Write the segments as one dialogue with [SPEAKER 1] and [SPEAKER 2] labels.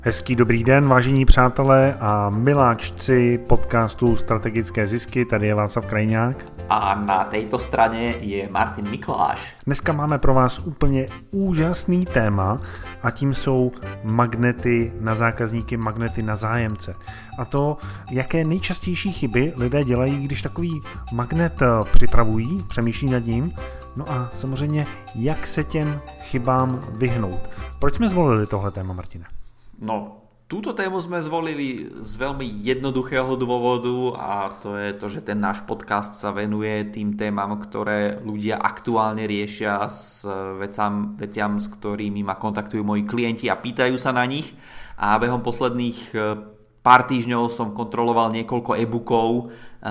[SPEAKER 1] Hezký dobrý den, vážení přátelé a miláčci podcastu Strategické zisky, tady je Václav Krajňák.
[SPEAKER 2] A na této straně je Martin Mikoláš.
[SPEAKER 1] Dneska máme pro vás úplně úžasný téma a tím jsou magnety na zákazníky, magnety na zájemce. A to, jaké nejčastější chyby lidé dělají, když takový magnet připravují, přemýšlí nad ním, no a samozřejmě, jak se těm chybám vyhnout. Proč jsme zvolili tohle téma, Martine?
[SPEAKER 2] No, túto tému sme zvolili z veľmi jednoduchého dôvodu a to je to, že ten náš podcast sa venuje tým témam, ktoré ľudia aktuálne riešia s veciam, s ktorými ma kontaktujú moji klienti a pýtajú sa na nich. A behom posledných pár týždňov som kontroloval niekoľko e-bookov,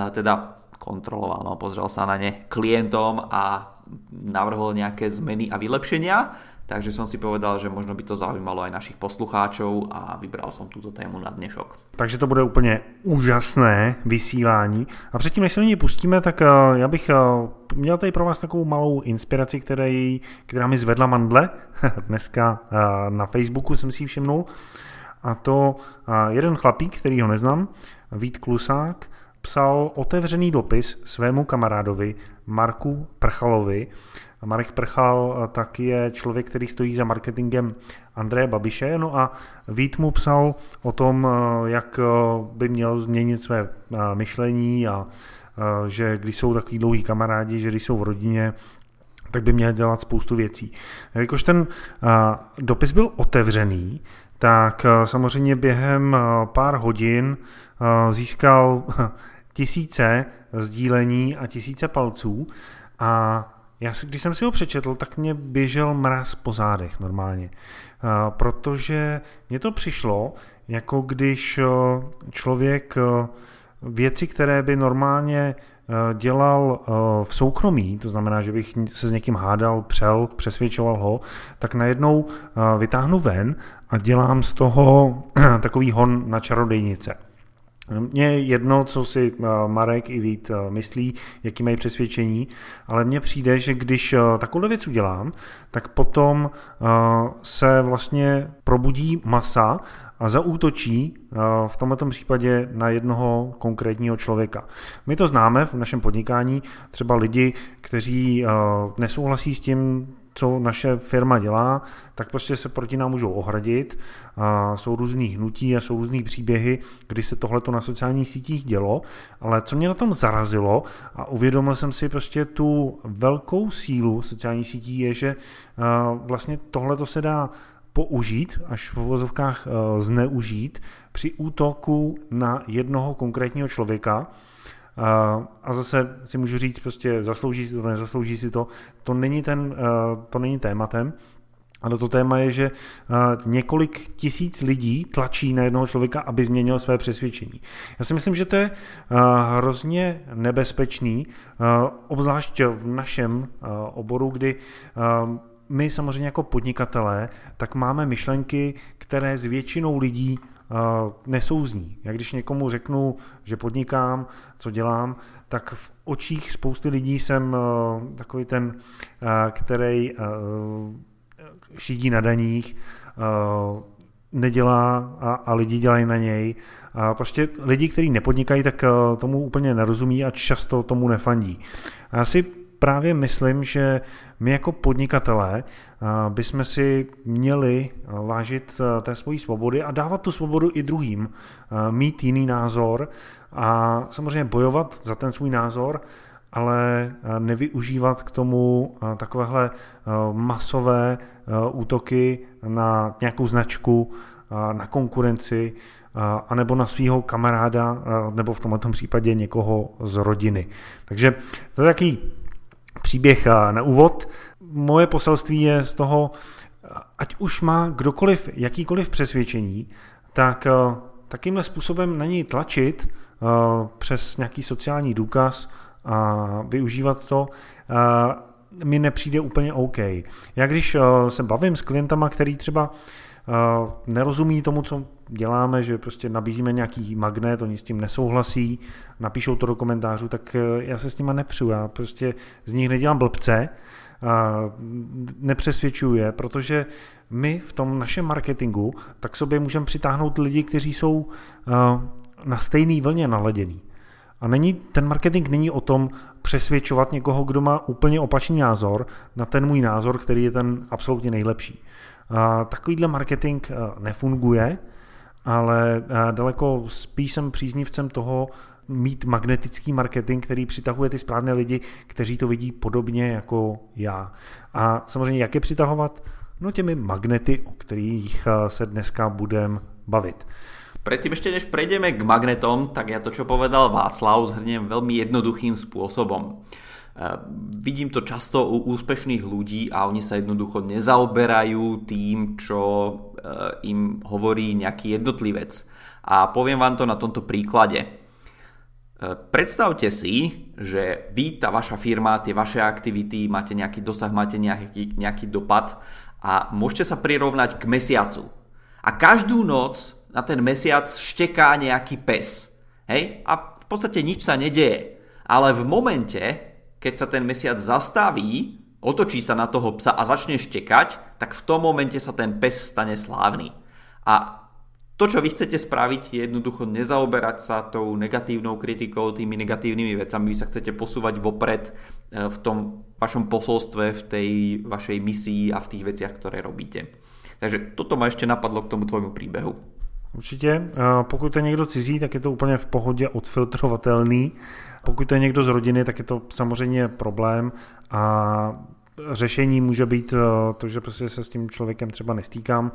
[SPEAKER 2] pozrel sa na ne klientom a navrhol nejaké zmeny a vylepšenia. Takže som si povedal, že možno by to zaujímalo aj našich poslucháčov a vybral som túto tému na dnešok.
[SPEAKER 1] Takže to bude úplně úžasné vysílání. A předtím, než se do něj pustíme, tak já bych měl tady pro vás takovou malou inspiraci, která mi zvedla mandle. Dneska na Facebooku jsem si ji všimnul. A to jeden chlapík, který ho neznám, Vít Klusák, psal otevřený dopis svému kamarádovi Marku Prchalovi. Marek Prchal tak je člověk, který stojí za marketingem Andreje Babiše, no a Vít mu psal o tom, jak by měl změnit své myšlení a že když jsou takový dlouhý kamarádi, že když jsou v rodině, tak by měl dělat spoustu věcí. Jakož ten dopis byl otevřený, tak samozřejmě během pár hodin získal tisíce sdílení a tisíce palců a když jsem si ho přečetl, tak mě běžel mráz po zádech normálně, protože mně to přišlo, jako když člověk věci, které by normálně dělal v soukromí, to znamená, že bych se s někým hádal, přesvědčoval ho, tak najednou vytáhnu ven a dělám z toho takový hon na čarodejnice. Mně je jedno, co si Marek i Vít myslí, jaký mají přesvědčení, ale mně přijde, že když takovou věc udělám, tak potom se vlastně probudí masa a zaútočí v tomto případě na jednoho konkrétního člověka. My to známe v našem podnikání, třeba lidi, kteří nesouhlasí s tím, co naše firma dělá, tak prostě se proti nám můžou ohradit. Jsou různý hnutí a jsou různý příběhy, kdy se tohleto na sociálních sítích dělo, ale co mě na tom zarazilo a uvědomil jsem si prostě tu velkou sílu sociálních sítí je, že vlastně tohleto se dá použít, až v uvozovkách zneužít při útoku na jednoho konkrétního člověka. A zase si můžu říct, prostě zaslouží si to, nezaslouží si to. To není tématem. Ale to téma je, že několik tisíc lidí tlačí na jednoho člověka, aby změnil své přesvědčení. Já si myslím, že to je hrozně nebezpečný, obzvlášť v našem oboru, kdy my samozřejmě jako podnikatelé, tak máme myšlenky, které s většinou lidí nesouzní. Já když někomu řeknu, že podnikám, co dělám, tak v očích spousty lidí jsem takový ten, který šidí na daních, nedělá a lidi dělají na něj. A prostě lidi, kteří nepodnikají, tak tomu úplně nerozumí a často tomu nefandí. A já si právě myslím, že my jako podnikatelé bychom si měli vážit té svojí svobody a dávat tu svobodu i druhým, mít jiný názor a samozřejmě bojovat za ten svůj názor, ale nevyužívat k tomu takovéhle masové útoky na nějakou značku, na konkurenci, anebo na svého kamaráda, nebo v tomto případě někoho z rodiny. Takže to je takový příběh na úvod. Moje poselství je z toho, ať už má kdokoliv jakýkoliv přesvědčení, tak takýmhle způsobem na něj tlačit přes nějaký sociální důkaz a využívat to mi nepřijde úplně OK. Já když se bavím s klientama, který třeba nerozumí tomu, co děláme, že prostě nabízíme nějaký magnet, oni s tím nesouhlasí, napíšou to do komentářů, tak já se s nima nepřu, já prostě z nich nedělám blbce, nepřesvědčuje, protože my v tom našem marketingu tak sobě můžeme přitáhnout lidi, kteří jsou na stejné vlně naladěný. A ten marketing není o tom přesvědčovat někoho, kdo má úplně opačný názor na ten můj názor, který je ten absolutně nejlepší. Takovýhle marketing nefunguje, ale daleko spíš jsem příznivcem toho mít magnetický marketing, který přitahuje ty správné lidi, kteří to vidí podobně jako já. A samozřejmě jak je přitahovat? No těmi magnety, o kterých se dneska budeme bavit.
[SPEAKER 2] Predtým ešte než prejdeme k magnetom, tak ja to, čo povedal Václav, zhrniem veľmi jednoduchým spôsobom. Vidím to často u úspešných ľudí a oni sa jednoducho nezaoberajú tým, čo im hovorí nejaký jednotlivec. A poviem vám to na tomto príklade. Predstavte si, že vy, tá vaša firma, tie vaše aktivity, máte nejaký dosah, máte nejaký dopad a môžete sa prirovnať k mesiacu. A každú noc na ten mesiac šteká nejaký pes. Hej? A v podstate nič sa nedeje. Ale v momente, keď sa ten mesiac zastaví, otočí sa na toho psa a začne štekať, tak v tom momente sa ten pes stane slávny. A to, čo vy chcete spraviť, je jednoducho nezaoberať sa tou negatívnou kritikou, tými negatívnymi vecami. Vy sa chcete posúvať vopred v tom vašom posolstve, v tej vašej misii a v tých veciach, ktoré robíte. Takže toto ma ešte napadlo k tomu tvojmu príbehu.
[SPEAKER 1] Určitě. Pokud je někdo cizí, tak je to úplně v pohodě odfiltrovatelný. Pokud to je někdo z rodiny, tak je to samozřejmě problém a řešení může být to, že prostě se s tím člověkem třeba nestýkám.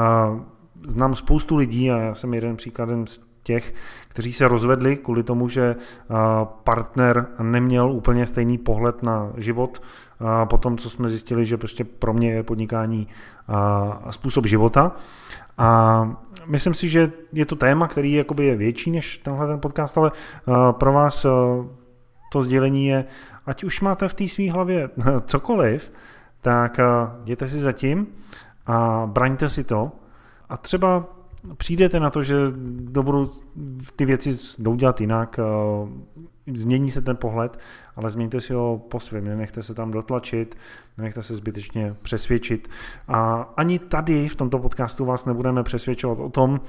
[SPEAKER 1] Znám spoustu lidí a já jsem jeden příkladem z těch, kteří se rozvedli kvůli tomu, že partner neměl úplně stejný pohled na život. Potom, co jsme zjistili, že prostě pro mě je podnikání způsob života. A myslím si, že je to téma, který jakoby je větší než tenhle ten podcast, ale pro vás to sdělení je, ať už máte v té svý hlavě cokoliv, tak jděte si zatím a braňte si to a třeba přijdete na to, že budu ty věci jdou dělat jinak, změní se ten pohled, ale změňte si ho po svém, nenechte se tam dotlačit, nenechte se zbytečně přesvědčit. A ani tady v tomto podcastu vás nebudeme přesvědčovat o tom,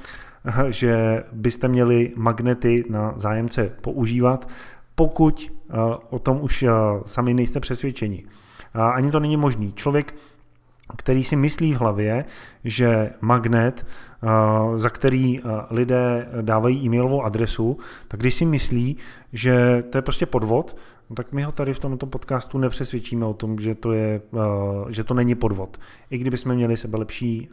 [SPEAKER 1] že byste měli magnety na zájemce používat, pokud o tom už sami nejste přesvědčeni. Ani to není možný. Člověk, který si myslí v hlavě, že magnet, za který lidé dávají e-mailovou adresu, tak když si myslí, že to je prostě podvod, tak my ho tady v tomto podcastu nepřesvědčíme o tom, že to není podvod. I kdybychom měli sebelepší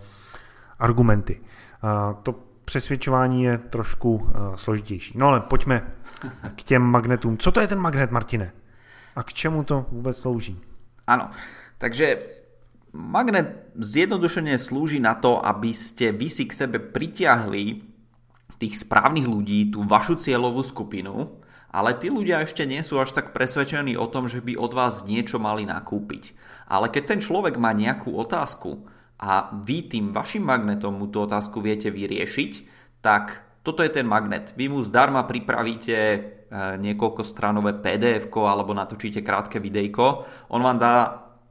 [SPEAKER 1] argumenty. To přesvědčování je trošku složitější. No ale pojďme k těm magnetům. Co to je ten magnet, Martine? A k čemu to vůbec slouží?
[SPEAKER 2] Áno, takže magnet zjednodušene slúži na to, aby ste vy si k sebe pritiahli tých správnych ľudí, tú vašu cieľovú skupinu, ale tí ľudia ešte nie sú až tak presvedčení o tom, že by od vás niečo mali nakúpiť. Ale keď ten človek má nejakú otázku a vy tým vašim magnetom mu tú otázku viete vyriešiť, tak toto je ten magnet. Vy mu zdarma pripravíte niekoľko stranové PDF-ko alebo natočíte krátke videjko. On vám dá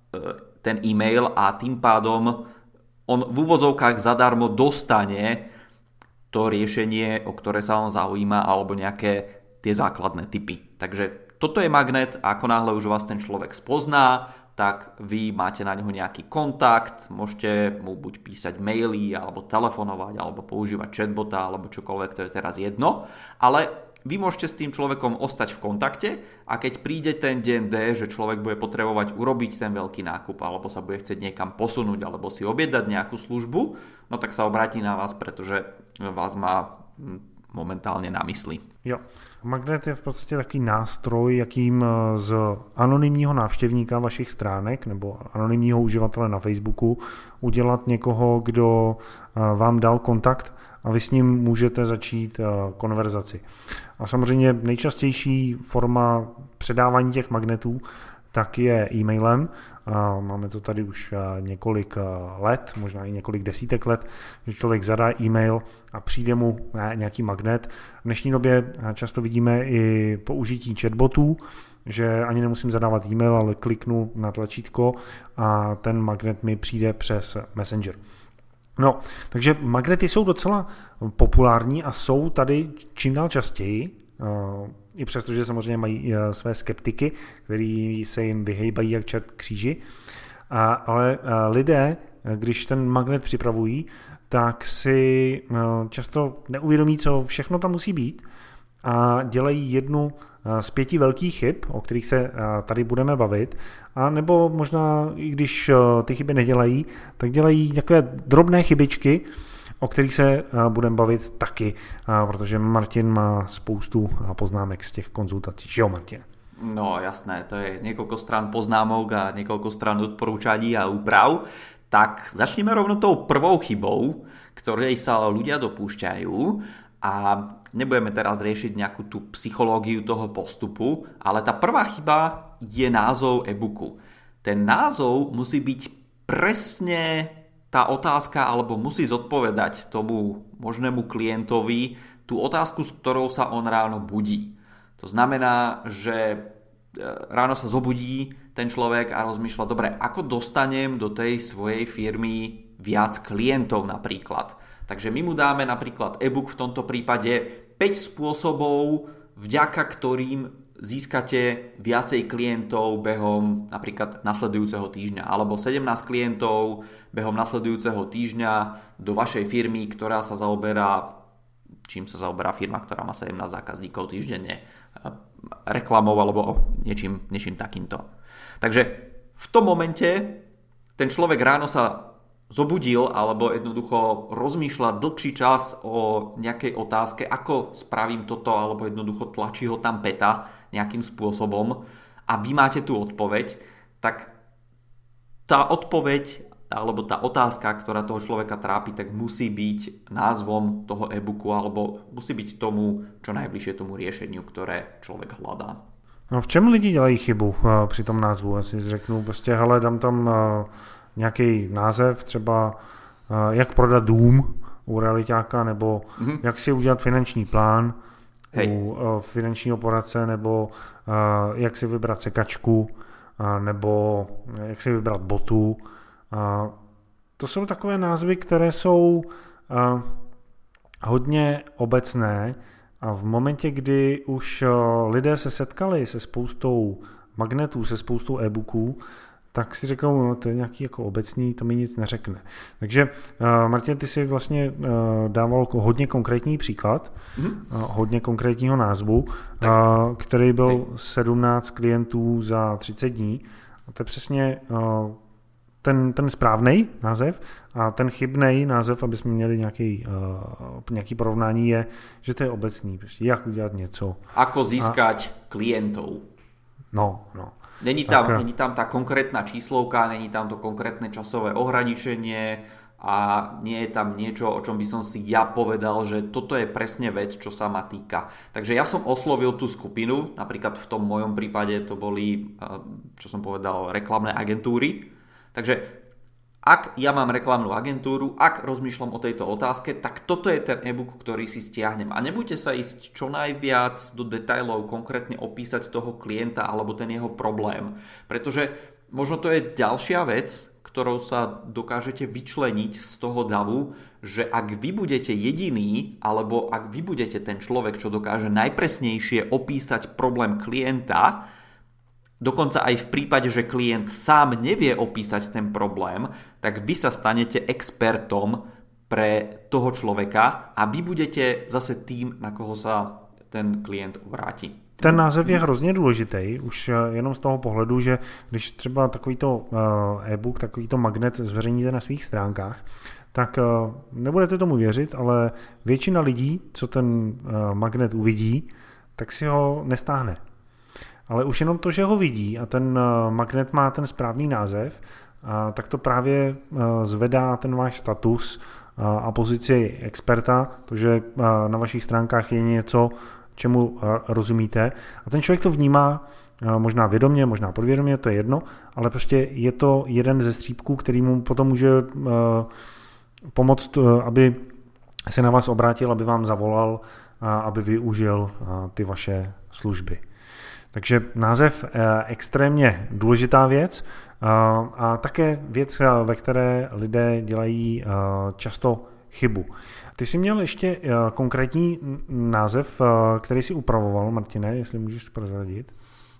[SPEAKER 2] ten e-mail a tým pádom on v úvodzovkách zadarmo dostane to riešenie, o ktoré sa on zaujíma, alebo nejaké tie základné tipy. Takže toto je magnet a ako náhle už vás ten človek spozná, tak vy máte na neho nejaký kontakt, môžete mu buď písať maily, alebo telefonovať, alebo používať chatbota, alebo čokoľvek, to je teraz jedno, ale vy môžete s tým človekom ostať v kontakte a keď príde ten deň D, že človek bude potrebovať urobiť ten veľký nákup alebo sa bude chcieť niekam posunúť alebo si objednať nejakú službu, no tak sa obráti na vás, pretože vás má momentálne na mysli.
[SPEAKER 1] Jo. Magnet je v podstatě takový nástroj, jakým z anonymního návštěvníka vašich stránek nebo anonymního uživatele na Facebooku udělat někoho, kdo vám dal kontakt a vy s ním můžete začít konverzaci. A samozřejmě nejčastější forma předávání těch magnetů tak je e-mailem. Máme to tady už několik let, možná i několik desítek let, že člověk zadá e-mail a přijde mu nějaký magnet. V dnešní době často vidíme i použití chatbotů, že ani nemusím zadávat e-mail, ale kliknu na tlačítko a ten magnet mi přijde přes Messenger. No, takže magnety jsou docela populární a jsou tady čím dál častěji, i přesto, že samozřejmě mají své skeptiky, který se jim vyhejbají jak čert kříži, ale lidé, když ten magnet připravují, tak si často neuvědomí, co všechno tam musí být a dělají jednu z 5 velkých chyb, o kterých se tady budeme bavit, a nebo možná, i když ty chyby nedělají, tak dělají takové drobné chybičky, o kterých se budeme bavit taky, protože Martin má spoustu poznámek z těch konzultací. Že jo, Martin?
[SPEAKER 2] No jasné, to je niekoľko strán poznámok a niekoľko strán odporúčaní a úprav. Tak začneme rovno tou prvou chybou, ktorej sa ľudia dopúšťajú, a nebudeme teraz riešiť nejakú tú psychológiu toho postupu, ale tá prvá chyba je názov e-booku. Ten názov musí byť presne tá otázka, alebo musí zodpovedať tomu možnému klientovi tú otázku, s ktorou sa on ráno budí. To znamená, že ráno sa zobudí ten človek a rozmýšľa, dobre, ako dostanem do tej svojej firmy viac klientov napríklad. Takže my mu dáme napríklad e-book v tomto prípade 5 spôsobov, vďaka ktorým získate viacej klientov behom napríklad nasledujúceho týždňa, alebo 17 klientov behom nasledujúceho týždňa do vašej firmy, ktorá sa zaoberá, čím sa zaoberá firma, ktorá má 17 zákazníkov týždenne, reklamou alebo niečím takýmto. Takže v tom momente ten človek ráno sa zobudil alebo jednoducho rozmýšľa dlhší čas o nejakej otázke, ako spravím toto, alebo jednoducho tlačí ho tam päta nejakým spôsobom a vy máte tú odpoveď, tak tá odpoveď alebo tá otázka, ktorá toho človeka trápi, tak musí byť názvom toho e-booku alebo musí byť tomu čo najbližšie tomu riešeniu, ktoré človek hľadá.
[SPEAKER 1] No v čem lidi dělají chybu při tom názvu? Já si řeknu, prostě hele, dám tam nějaký název, třeba jak prodat dům u realitáka, nebo jak si udělat finanční plán u finančního poradce, nebo jak si vybrat sekačku, nebo jak si vybrat botu. To jsou takové názvy, které jsou hodně obecné a v momentě, kdy už lidé se setkali se spoustou magnetů, se spoustou e-booků, tak si řeknou, no, to je nějaký jako obecný, to mi nic neřekne. Takže Martin, ty si vlastně dával hodně konkrétní příklad, hodně konkrétního názvu, který byl 17 klientů za 30 dní. A to je přesně ten správný název a ten chybný název, aby jsme měli nějaký porovnání, je, že to je obecný. Prostě jak udělat něco.
[SPEAKER 2] Ako získať klientov.
[SPEAKER 1] No.
[SPEAKER 2] Není tam tá konkrétna číslovka, není tam to konkrétne časové ohraničenie a nie je tam niečo, o čom by som si ja povedal, že toto je presne vec, čo sa ma týka. Takže ja som oslovil tú skupinu, napríklad v tom mojom prípade to boli, čo som povedal, reklamné agentúry. Takže ak ja mám reklamnú agentúru, ak rozmýšľam o tejto otázke, tak toto je ten e-book, ktorý si stiahnem. A nebuďte sa ísť čo najviac do detailov, konkrétne opísať toho klienta alebo ten jeho problém. Pretože možno to je ďalšia vec, ktorou sa dokážete vyčleniť z toho davu, že ak vy budete jediný, alebo ak vy budete ten človek, čo dokáže najpresnejšie opísať problém klienta, dokonca aj v prípade, že klient sám nevie opísať ten problém, tak vy sa stanete expertom pre toho človeka a vy budete zase tým, na koho sa ten klient obráti.
[SPEAKER 1] Ten název je hrozně důležitý, už jenom z toho pohledu, že když třeba takovýto e-book, takovýto magnet zveřejníte na svých stránkách, tak nebudete tomu věřit, ale většina lidí, co ten magnet uvidí, tak si ho nestáhne. Ale už jenom to, že ho vidí a ten magnet má ten správný název, tak to právě zvedá ten váš status a pozici experta, protože na vašich stránkách je něco, čemu rozumíte. A ten člověk to vnímá možná vědomě, možná podvědomě, to je jedno, ale prostě je to jeden ze střípků, který mu potom může pomoct, aby se na vás obrátil, aby vám zavolal, aby využil ty vaše služby. Takže název extrémně důležitá věc a také věc, ve které lidé dělají často chybu. Ty jsi měl ještě konkrétní název, který jsi upravoval, Martine, jestli můžeš prozradit?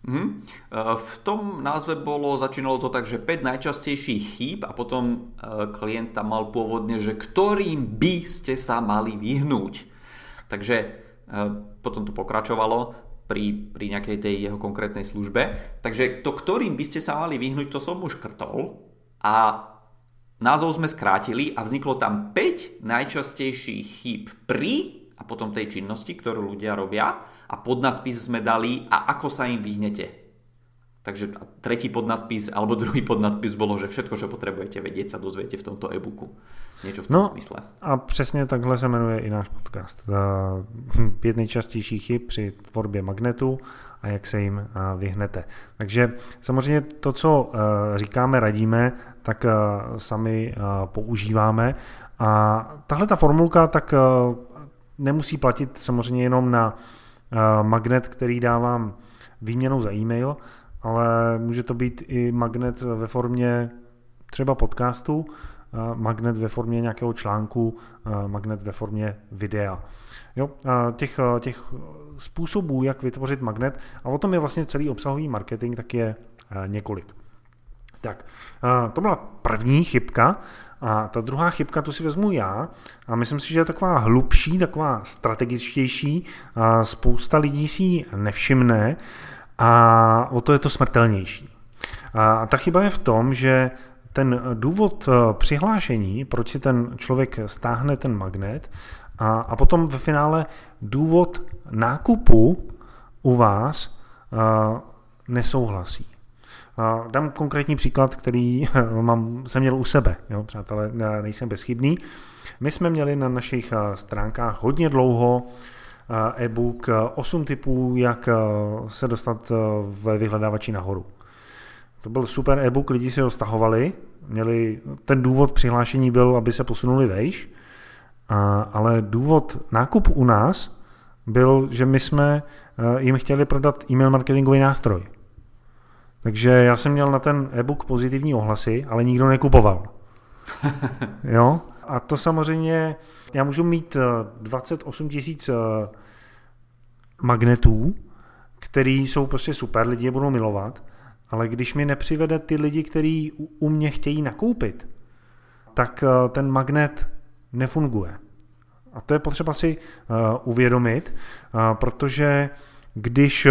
[SPEAKER 2] V tom názve začínalo to tak, že 5 najčastejších chýb a potom klient tam mal pôvodne, že ktorým by ste sa mali vyhnúť. Takže potom to pokračovalo pri nejakej tej jeho konkrétnej službe. Takže to, ktorým by ste sa mali vyhnúť, to som už škrtol a názov sme skrátili a vzniklo tam 5 najčastejších chýb pri a potom tej činnosti, ktorú ľudia robia a podnadpis sme dali a ako sa im vyhnete. Takže tretí podnadpis alebo druhý podnadpis bolo, že všetko, čo potrebujete vedieť, sa dozviete v tomto e-booku. Niečo v tom smysle.
[SPEAKER 1] A přesně takhle se jmenuje i náš podcast. 5 nejčastějších chyb při tvorbě magnetu a jak se jim vyhnete. Takže samozřejmě to, co říkáme, radíme, tak sami používáme. A tahle ta formulka tak nemusí platit samozřejmě jenom na magnet, který dávám výměnou za e-mail, ale může to být i magnet ve formě třeba podcastu, magnet ve formě nějakého článku, magnet ve formě videa. Jo, těch způsobů, jak vytvořit magnet, a o tom je vlastně celý obsahový marketing, tak je několik. Tak, to byla první chybka. A ta druhá chybka, tu si vezmu já a myslím si, že je taková hlubší, taková strategičtější, a spousta lidí si ji nevšimne a o to je to smrtelnější. A ta chyba je v tom, že ten důvod přihlášení, proč si ten člověk stáhne ten magnet a potom ve finále důvod nákupu u vás nesouhlasí. Dám konkrétní příklad, který jsem měl u sebe. Jo, přátelé, nejsem bezchybný. My jsme měli na našich stránkách hodně dlouho e-book 8 tipů, jak se dostat ve vyhledávači nahoru. To byl super e-book, lidi si ho stahovali, ten důvod přihlášení byl, aby se posunuli vejš, ale důvod nákupu u nás byl, že my jsme jim chtěli prodat e-mail marketingový nástroj. Takže já jsem měl na ten e-book pozitivní ohlasy, ale nikdo nekupoval. Jo? A to samozřejmě, já můžu mít 28 000 magnetů, který jsou prostě super, lidi je budou milovat, ale když mi nepřivede ty lidi, kteří u mě chtějí nakoupit, tak ten magnet nefunguje. A to je potřeba si uvědomit, protože když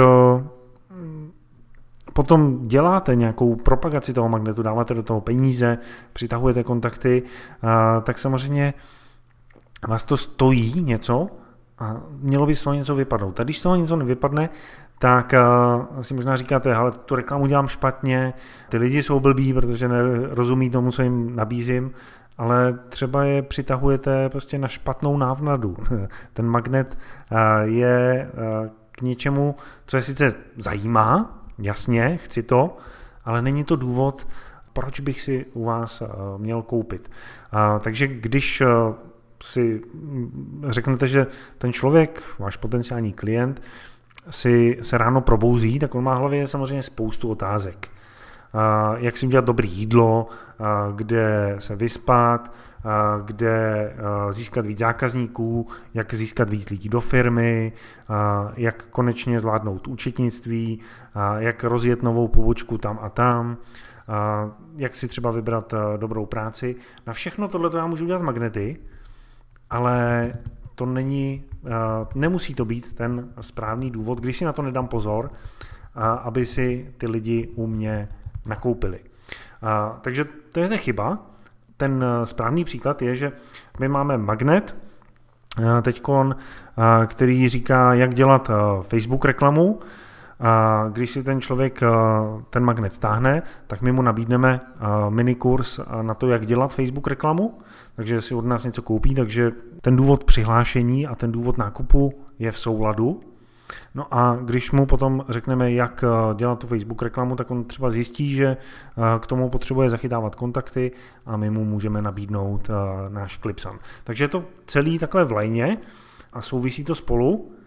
[SPEAKER 1] potom děláte nějakou propagaci toho magnetu, dáváte do toho peníze, přitahujete kontakty, tak samozřejmě vás to stojí něco a mělo by z toho něco vypadnout. A když z toho něco nevypadne, tak si možná říkáte, ale tu reklamu dělám špatně, ty lidi jsou blbí, protože nerozumí tomu, co jim nabízím, ale třeba je přitahujete prostě na špatnou návnadu. Ten magnet je k něčemu, co je sice zajímá, jasně, chci to, ale není to důvod, proč bych si u vás měl koupit. Takže když si řeknete, že ten člověk, váš potenciální klient, se ráno probouzí, tak on má v hlavě samozřejmě spoustu otázek. Jak si udělat dobré jídlo, kde se vyspat, kde získat víc zákazníků, jak získat víc lidí do firmy, jak konečně zvládnout účetnictví, jak rozjet novou pobočku tam a tam, jak si třeba vybrat dobrou práci. Na všechno tohle já můžu udělat magnety, ale to nemusí to být ten správný důvod, když si na to nedám pozor, aby si ty lidi u mě nakoupili. Takže to je ta chyba. Ten správný příklad je, že my máme magnet teďkon, který říká, jak dělat Facebook reklamu. Když si ten člověk ten magnet stáhne, tak my mu nabídneme minikurs na to, jak dělat Facebook reklamu, takže si od nás něco koupí, takže ten důvod přihlášení a ten důvod nákupu je v souladu. No a když mu potom řekneme, jak dělat tu Facebook reklamu, tak on třeba zjistí, že k tomu potřebuje zachytávat kontakty a my mu můžeme nabídnout náš Clipsan. Takže je to celý takhle v lajně a souvisí to spolu.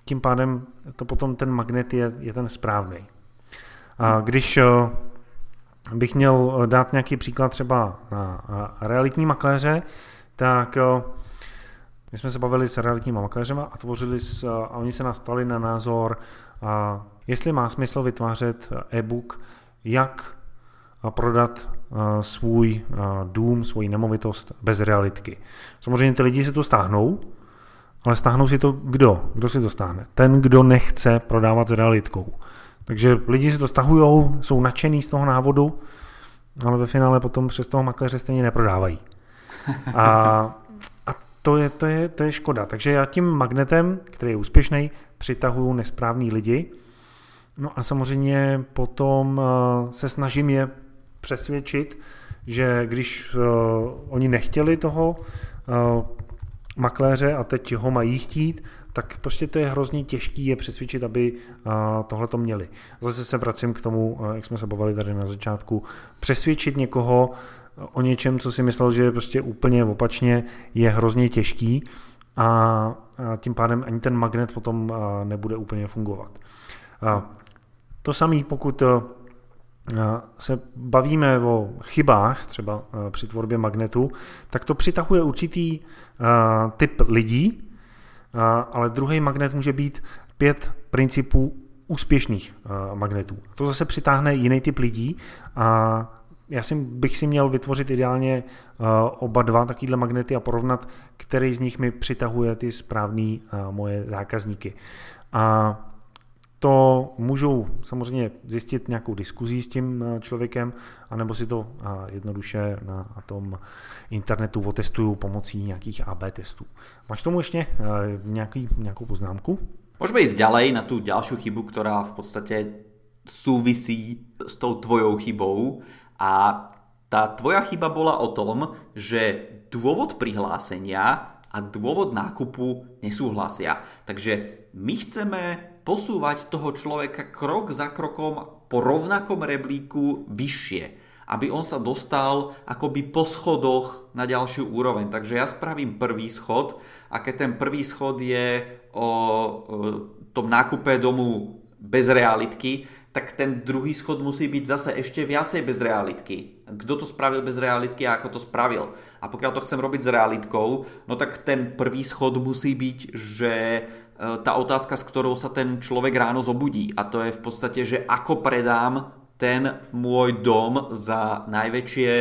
[SPEAKER 1] tím pádem to potom ten magnet je ten správný. A když bych měl dát nějaký příklad třeba na realitní makléře, tak my jsme se bavili s realitníma makléřema a oni se nás ptali na názor, jestli má smysl vytvářet e-book, jak prodat svůj dům, svoji nemovitost bez realitky. Samozřejmě ty lidi si to stáhnou, ale stáhnou si to kdo? Kdo si to stáhne? Ten, kdo nechce prodávat s realitkou. Takže lidi si to stahujou, jsou nadšený z toho návodu, ale ve finále potom přes toho makléře stejně neprodávají. A to je škoda. Takže já tím magnetem, který je úspěšný, přitahuju nesprávný lidi. No a samozřejmě potom se snažím je přesvědčit, že když oni nechtěli toho makléře a teď ho mají chtít, tak prostě to je hrozně těžký je přesvědčit, aby tohleto měli. Zase se vracím k tomu, jak jsme se bavili tady na začátku, přesvědčit někoho o něčem, co si myslel, že je prostě úplně opačně, je hrozně těžký a tím pádem ani ten magnet potom nebude úplně fungovat. To samé, pokud se bavíme o chybách, třeba při tvorbě magnetu, tak to přitahuje určitý typ lidí, ale druhý magnet může být 5 principů úspěšných magnetů. To zase přitáhne jiný typ lidí a bych si měl vytvořit ideálně oba dva takovýhle magnety a porovnat, který z nich mi přitahuje ty správný moje zákazníky. A to můžou samozřejmě zjistit nějakou diskuzí s tím člověkem, anebo si to jednoduše na tom internetu otestuju pomocí nějakých AB testů. Máš tomu ještě nějakou poznámku?
[SPEAKER 2] Môžeme ísť ďalej na tú ďalšiu chybu, ktorá v podstate súvisí s tou tvojou chybou. A tá tvoja chyba bola o tom, že dôvod prihlásenia a dôvod nákupu nesúhlasia. Takže my chceme posúvať toho človeka krok za krokom po rovnakom rebríku vyššie, aby on sa dostal akoby po schodoch na ďalšiu úroveň. Takže ja spravím prvý schod a keď ten prvý schod je o tom nákupe domu bez realitky, tak ten druhý schod musí byť zase ešte viacej bez realitky. Kto to spravil bez realitky a ako to spravil? A pokiaľ to chcem robiť s realitkou, no tak ten prvý schod musí byť, že tá otázka, s ktorou sa ten človek ráno zobudí. A to je v podstate, že ako predám ten môj dom za najväčšie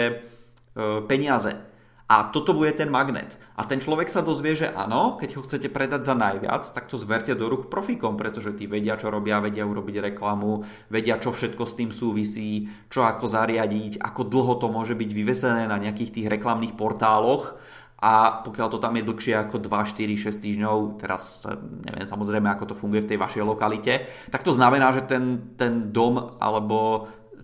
[SPEAKER 2] peniaze. A toto bude ten magnet. A ten človek sa dozvie, že áno, keď ho chcete predať za najviac, tak to zverte do rúk profíkom, pretože tí vedia, čo robia, vedia urobiť reklamu, vedia, čo všetko s tým súvisí, čo ako zariadiť, ako dlho to môže byť vyvesené na nejakých tých reklamných portáloch. A pokiaľ to tam je dlhšie ako 2, 4, 6 týždňov, teraz neviem samozrejme, ako to funguje v tej vašej lokalite, tak to znamená, že ten dom alebo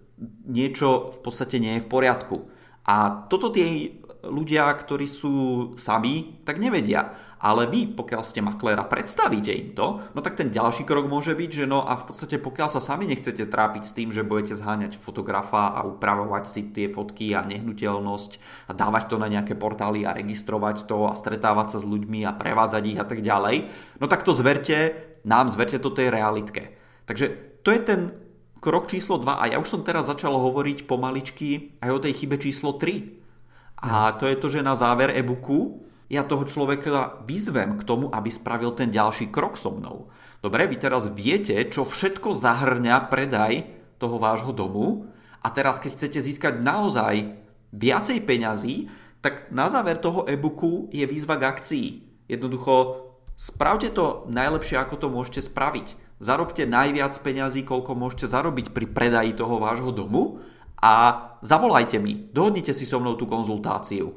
[SPEAKER 2] niečo v podstate nie je v poriadku. A toto tie ľudia, ktorí sú sami, tak nevedia. Ale vy, pokiaľ ste makléra, predstavíte im to, no tak ten ďalší krok môže byť, že no a v podstate pokiaľ sa sami nechcete trápiť s tým, že budete zháňať fotografa a upravovať si tie fotky a nehnuteľnosť a dávať to na nejaké portály a registrovať to a stretávať sa s ľuďmi a prevádzať ich a tak ďalej, no tak to zverte to tej realitke. Takže to je ten krok číslo 2 a ja už som teraz začal hovoriť pomaličky aj o tej chybe číslo 3. A to je to, že na záver e-booku ja toho človeka vyzvem k tomu, aby spravil ten ďalší krok so mnou. Dobre, vy teraz viete, čo všetko zahrňa predaj toho vášho domu a teraz, keď chcete získať naozaj viacej peňazí, tak na záver toho e-booku je výzva k akcii. Jednoducho, spravte to najlepšie, ako to môžete spraviť. Zarobte najviac peňazí, koľko môžete zarobiť pri predaji toho vášho domu a zavolajte mi, dohodnite si so mnou tú konzultáciu.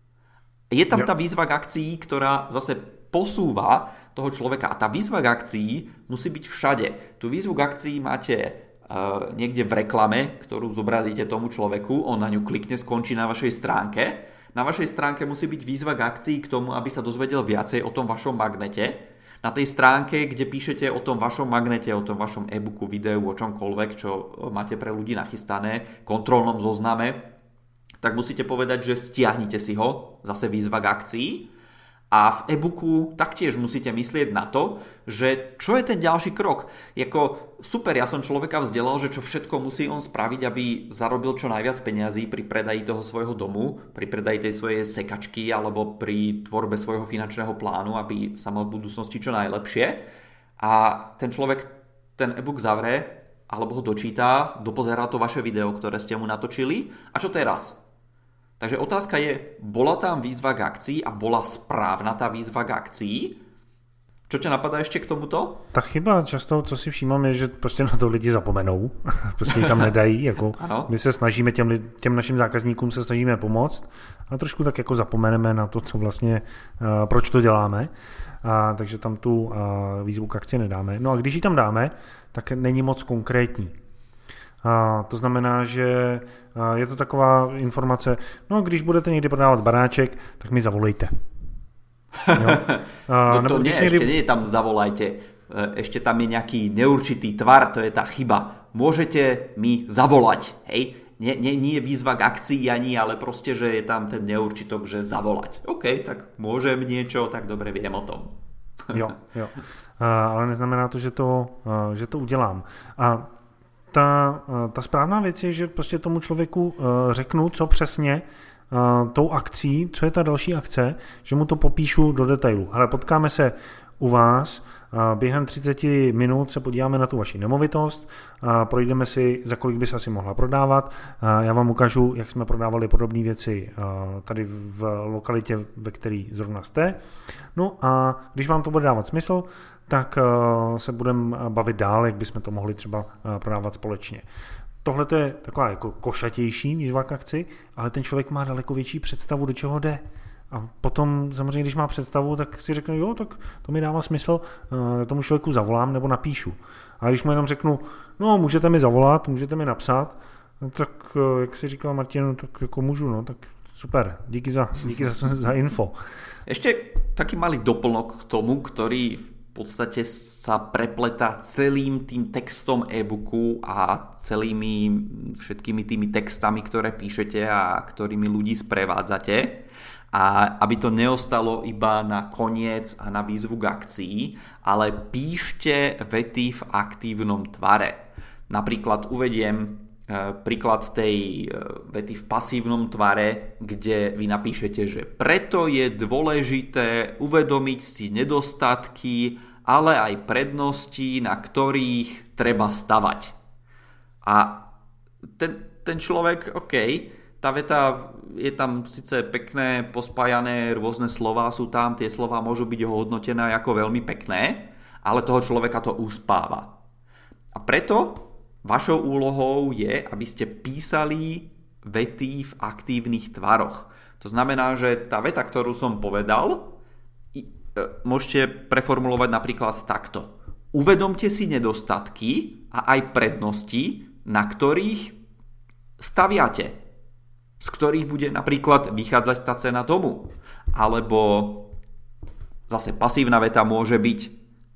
[SPEAKER 2] Je tam tá výzva k akcii, ktorá zase posúva toho človeka a tá výzva k akcii musí byť všade. Tú výzvu k akcii máte niekde v reklame, ktorú zobrazíte tomu človeku, on na ňu klikne, skončí na vašej stránke. Na vašej stránke musí byť výzva k akcii k tomu, aby sa dozvedel viacej o tom vašom magnete. Na tej stránke, kde píšete o tom vašom magnete, o tom vašom e-booku, videu, o čomkoľvek, čo máte pre ľudí nachystané, kontrolnom zozname, tak musíte povedať, že stiahnite si ho, zase výzva k akcii. A v e-booku taktiež musíte myslieť na to, že čo je ten ďalší krok. Jako super, ja som človeka vzdelal, že čo všetko musí on spraviť, aby zarobil čo najviac peniazí pri predaji toho svojho domu, pri predaji tej svojej sekačky alebo pri tvorbe svojho finančného plánu, aby sa mal v budúcnosti čo najlepšie. A ten človek ten e-book zavrie alebo ho dočíta, dopozerá to vaše video, ktoré ste mu natočili. A čo teraz? Takže otázka je, bola tam výzva k akcii a bola správna tá výzva k akcii? Čo ťa napadá ešte k tomuto?
[SPEAKER 1] Ta chyba často, co si všímám, je, že prostě na to lidi zapomenou. Prostě ji tam nedají. Jako my se snažíme těm našim zákazníkům se snažíme pomoct a trošku tak jako zapomeneme na to, co vlastně, proč to děláme. Takže tam tu výzvu k akci nedáme. No a když ji tam dáme, tak není moc konkrétní. To znamená, že je to taková informace, no když budete někdy prodávat baráček, tak mi zavolejte.
[SPEAKER 2] To nie, ešte nie je tam zavolajte. Ešte tam je nejaký neurčitý tvar, to je tá chyba. Môžete mi zavolať, hej? Nie je výzva k akcii ani, ale proste, že je tam ten neurčitok, že zavolať. OK, tak môžem niečo, tak dobre viem o tom.
[SPEAKER 1] Jo. Ale neznamená to, že to udělám. A ta správná věc je, že prostě tomu člověku řeknu, co přesně tou akcí, co je ta další akce, že mu to popíšu do detailu. Ale potkáme se u vás, během 30 minut se podíváme na tu vaši nemovitost, projdeme si, za kolik by se asi mohla prodávat, já vám ukážu, jak jsme prodávali podobné věci tady v lokalitě, ve které zrovna jste. No a když vám to bude dávat smysl, tak se budeme bavit dál, jak bychom to mohli třeba prodávat společně. Tohle je taková jako košatější výzva k akci, ale ten člověk má daleko větší představu, do čeho jde. A potom samozřejmě, když má představu, tak si řekne, jo, tak to mi dává smysl, tomu člověku zavolám nebo napíšu. A když mu jenom řeknu, no můžete mi zavolat, můžete mi napsat, no, tak jak si říkal Martin, tak jako můžu, no, tak super, díky za info.
[SPEAKER 2] Ešte taký malý doplnok k tomu, ktorý v podstate sa prepletá celým tým textom e-booku a všetkými tými textami, ktoré píšete a ktorými ľudí sprevádzate. A aby to neostalo iba na koniec a na výzvu k akcii, ale píšte vety v aktívnom tvare. Napríklad uvediem príklad tej vety v pasívnom tvare, kde vy napíšete, že preto je dôležité uvedomiť si nedostatky, ale aj prednosti, na ktorých treba stavať. A ten človek, OK, tá veta je tam síce pekné, pospájané, rôzne slová sú tam, tie slová môžu byť hodnotené ako veľmi pekné, ale toho človeka to uspáva. A preto vašou úlohou je, aby ste písali vety v aktívnych tvaroch. To znamená, že tá veta, ktorú som povedal, môžete preformulovať napríklad takto. Uvedomte si nedostatky a aj prednosti, na ktorých staviate, z ktorých bude napríklad vychádzať tá cena domu. Alebo zase pasívna veta môže byť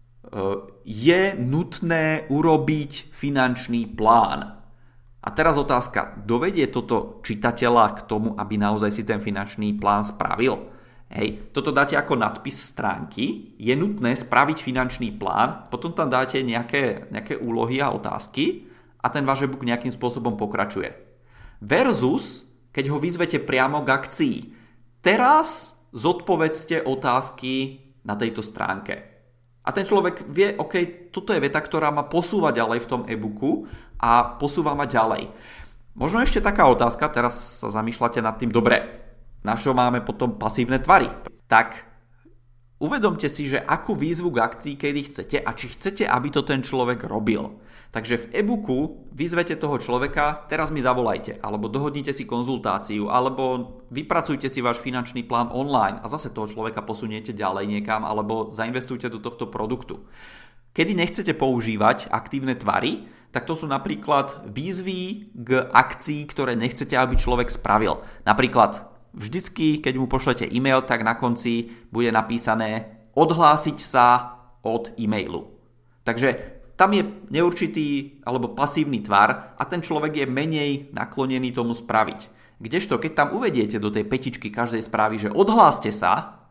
[SPEAKER 2] je nutné urobiť finančný plán. A teraz otázka, dovedie toto čitateľa k tomu, aby naozaj si ten finančný plán spravil? Hej, toto dáte ako nadpis stránky, je nutné spraviť finančný plán, potom tam dáte nejaké úlohy a otázky a ten váš e-book nejakým spôsobom pokračuje. Versus, keď ho vyzvete priamo k akcii. Teraz zodpovedzte otázky na tejto stránke. A ten človek vie, OK, toto je veta, ktorá ma posúva ďalej v tom e-booku a posúva ma ďalej. Možno ešte taká otázka, teraz sa zamýšľate nad tým, dobre, na čo máme potom pasívne tvary? Tak uvedomte si, že akú výzvu k akcii kedy chcete a či chcete, aby to ten človek robil. Takže v e-booku vyzvete toho človeka, teraz mi zavolajte, alebo dohodnite si konzultáciu, alebo vypracujte si váš finančný plán online a zase toho človeka posuniete ďalej niekam, alebo zainvestujte do tohto produktu. Kedy nechcete používať aktívne tvary, tak to sú napríklad výzvy k akcii, ktoré nechcete, aby človek spravil. Napríklad vždycky, keď mu pošlete e-mail, tak na konci bude napísané odhlásiť sa od e-mailu. Takže tam je neurčitý alebo pasívny tvar a ten človek je menej naklonený tomu spraviť. Kdežto, keď tam uvediete do tej petičky každej správy, že odhláste sa,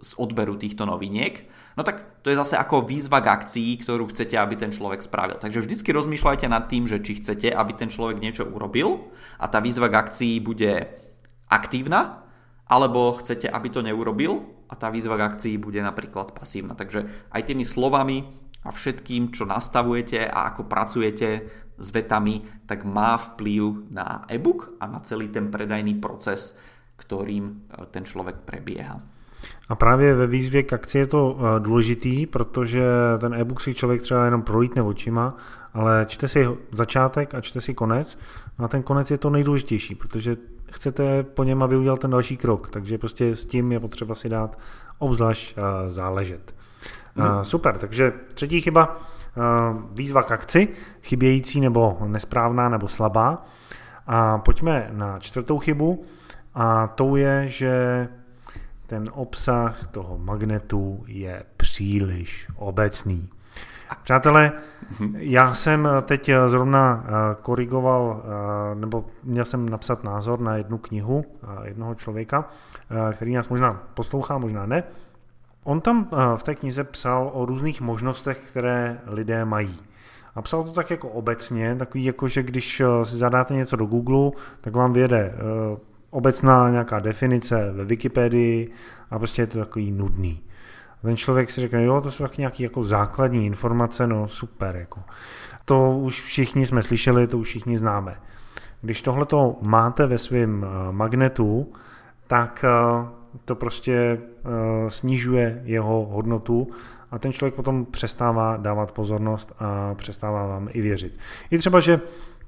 [SPEAKER 2] z odberu týchto noviniek, no tak to je zase ako výzva k akcii, ktorú chcete, aby ten človek spravil. Takže vždycky rozmýšľajte nad tým, že či chcete, aby ten človek niečo urobil a tá výzva k akcii bude aktívna, alebo chcete, aby to neurobil a tá výzva k akcii bude napríklad pasívna. Takže aj tými slovami a všetkým, čo nastavujete a ako pracujete s vetami, tak má vplyv na e-book a na celý ten predajný proces, ktorým ten človek prebieha.
[SPEAKER 1] A právě ve výzvě k akci je to důležitý, protože ten e-book si člověk třeba jenom prolítne očima, ale čte si začátek a čte si konec. No a ten konec je to nejdůležitější, protože chcete po něm, aby udělal ten další krok, takže prostě s tím je potřeba si dát obzvlášť záležet. Super, takže třetí chyba, výzva k akci, chybějící nebo nesprávná nebo slabá. A pojďme na čtvrtou chybu a tou je, že ten obsah toho magnetu je příliš obecný. Přátelé, já jsem teď zrovna korigoval, nebo měl jsem napsat názor na jednu knihu jednoho člověka, který nás možná poslouchá, možná ne. On tam v té knize psal o různých možnostech, které lidé mají. A psal to tak jako obecně, takový jako, že když si zadáte něco do Google, tak vám vyjede obecná nějaká definice ve Wikipedii a prostě je to takový nudný. A ten člověk si řekne, jo, to jsou taky nějaké jako základní informace, no super. Jako. To už všichni jsme slyšeli, to už všichni známe. Když tohleto máte ve svém magnetu, tak to prostě snižuje jeho hodnotu a ten člověk potom přestává dávat pozornost a přestává vám i věřit. Je třeba, že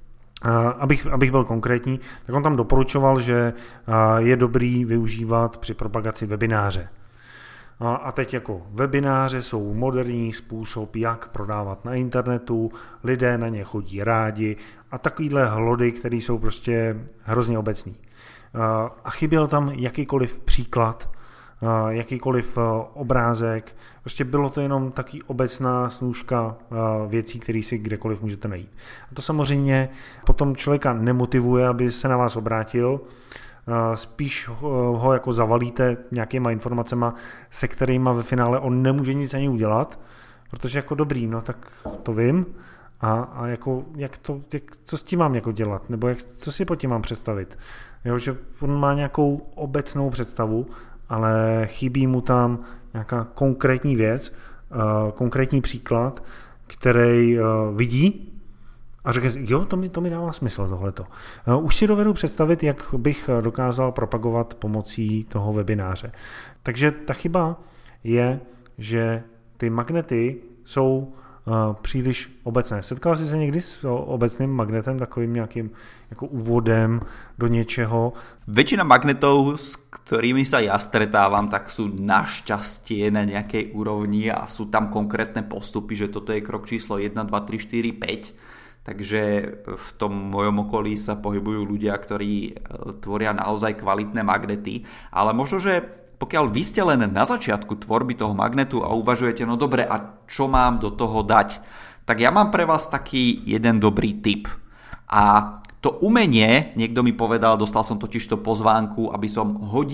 [SPEAKER 1] abych byl konkrétní, tak on tam doporučoval, že je dobrý využívat při propagaci webináře. A teď jako webináře jsou moderní způsob, jak prodávat na internetu, lidé na ně chodí rádi a takovýhle hlody, které jsou prostě hrozně obecný. A chyběl tam jakýkoliv příklad, jakýkoliv obrázek, prostě bylo to jenom taky obecná snůžka věcí, které si kdekoliv můžete najít. A to samozřejmě potom člověka nemotivuje, aby se na vás obrátil, spíš ho jako zavalíte nějakýma informacema, se kterýma ve finále on nemůže nic ani udělat, protože jako dobrý, no tak to vím, a jako co s tím mám jako dělat, nebo co si pod tím mám představit. Jo, že on má nějakou obecnou představu, ale chybí mu tam nějaká konkrétní věc, konkrétní příklad, který vidí a řekne, jo, to mi dává smysl tohleto. Už si dovedu představit, jak bych dokázal propagovat pomocí toho webináře. Takže ta chyba je, že ty magnety jsou příliš obecné. Setkal jsi se někdy s obecným magnetem, takovým nějakým jako úvodem do něčeho?
[SPEAKER 2] Väčšina magnetov, s ktorými sa ja stretávam, tak sú našťastie na nejakej úrovni a sú tam konkrétne postupy, že toto je krok číslo 1, 2, 3, 4, 5. Takže v tom mojom okolí sa pohybujú ľudia, ktorí tvoria naozaj kvalitné magnety. Ale možno, že pokiaľ vy ste len na začiatku tvorby toho magnetu a uvažujete, no dobre, a čo mám do toho dať, tak ja mám pre vás taký jeden dobrý tip. A to umenie, niekto mi povedal, dostal som totižto pozvánku, aby som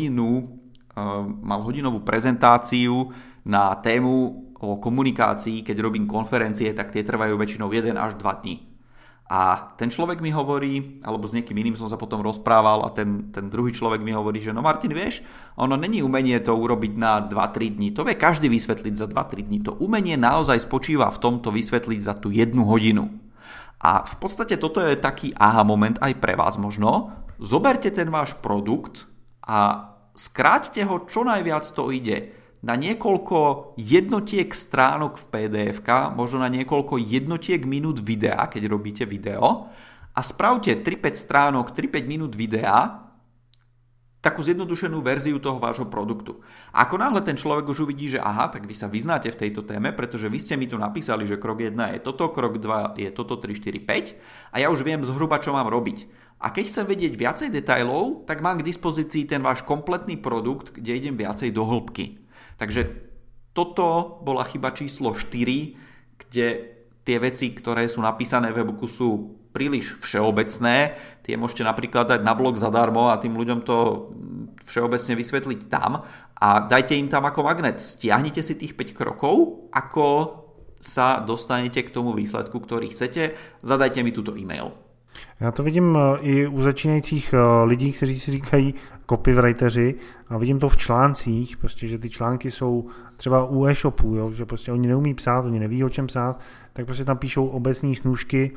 [SPEAKER 2] mal hodinovú prezentáciu na tému o komunikácii, keď robím konferencie, tak tie trvajú väčšinou 1 až 2 dní. A ten človek mi hovorí, alebo s niekým iným som sa potom rozprával a ten druhý človek mi hovorí, že no Martin, vieš, ono není umenie to urobiť na 2-3 dní, to vie každý vysvetliť za 2-3 dní. To umenie naozaj spočíva v tomto vysvetliť za tú 1 hodinu. A v podstate toto je taký aha moment aj pre vás možno. Zoberte ten váš produkt a skráťte ho čo najviac to ide. Na niekoľko jednotiek stránok v PDF-ka, možno na niekoľko jednotiek minút videa, keď robíte video, a spravte 3-5 stránok, 3-5 minút videa, takú zjednodušenú verziu toho vášho produktu. A ako náhle ten človek už uvidí, že aha, tak vy sa vyznáte v tejto téme, pretože vy ste mi tu napísali, že krok 1 je toto, krok 2 je toto, 3, 4, 5 a ja už viem zhruba, čo mám robiť. A keď chcem vedieť viacej detailov, tak mám k dispozícii ten váš kompletný produkt, kde idem viacej do hĺbky. Takže toto bola chyba číslo 4, kde tie veci, ktoré sú napísané v e-booku, sú príliš všeobecné, tie môžete napríklad dať na blog zadarmo a tým ľuďom to všeobecne vysvetliť tam a dajte im tam ako magnet. Stiahnite si tých 5 krokov, ako sa dostanete k tomu výsledku, ktorý chcete. Zadajte mi túto e-mail.
[SPEAKER 1] Já to vidím i u začínajících lidí, kteří si říkají copywriteři a vidím to v článcích, prostě, že ty články jsou třeba u e-shopů, jo, že prostě oni neumí psát, oni neví o čem psát, tak prostě tam píšou obecní snůžky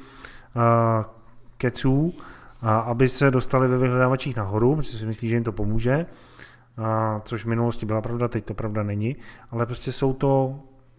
[SPEAKER 1] keců, aby se dostali ve vyhledávačích nahoru, protože si myslí, že jim to pomůže, což v minulosti byla pravda, teď to pravda není, ale prostě jsou to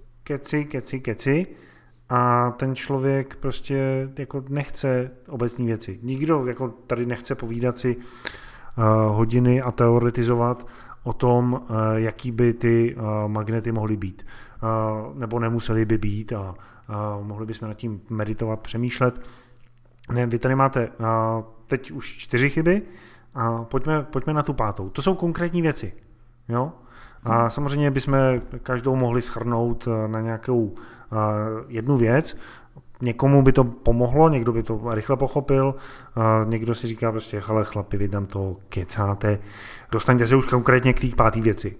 [SPEAKER 1] keci a ten člověk prostě jako nechce obecní věci. Nikdo jako tady nechce povídat si hodiny a teoretizovat o tom, jaký by ty magnety mohly být. Nebo nemuseli by být a mohli bychom nad tím meditovat, přemýšlet. Ne, vy tady máte teď už 4 chyby a pojďme na tu 5. To jsou konkrétní věci. Jo? A samozřejmě bychom každou mohli shrnout na nějakou jednu věc. Někomu by to pomohlo, někdo by to rychle pochopil, někdo si říká prostě, hele chlapi, vy tam to kecáte, dostaňte se už konkrétně k té 5. věci.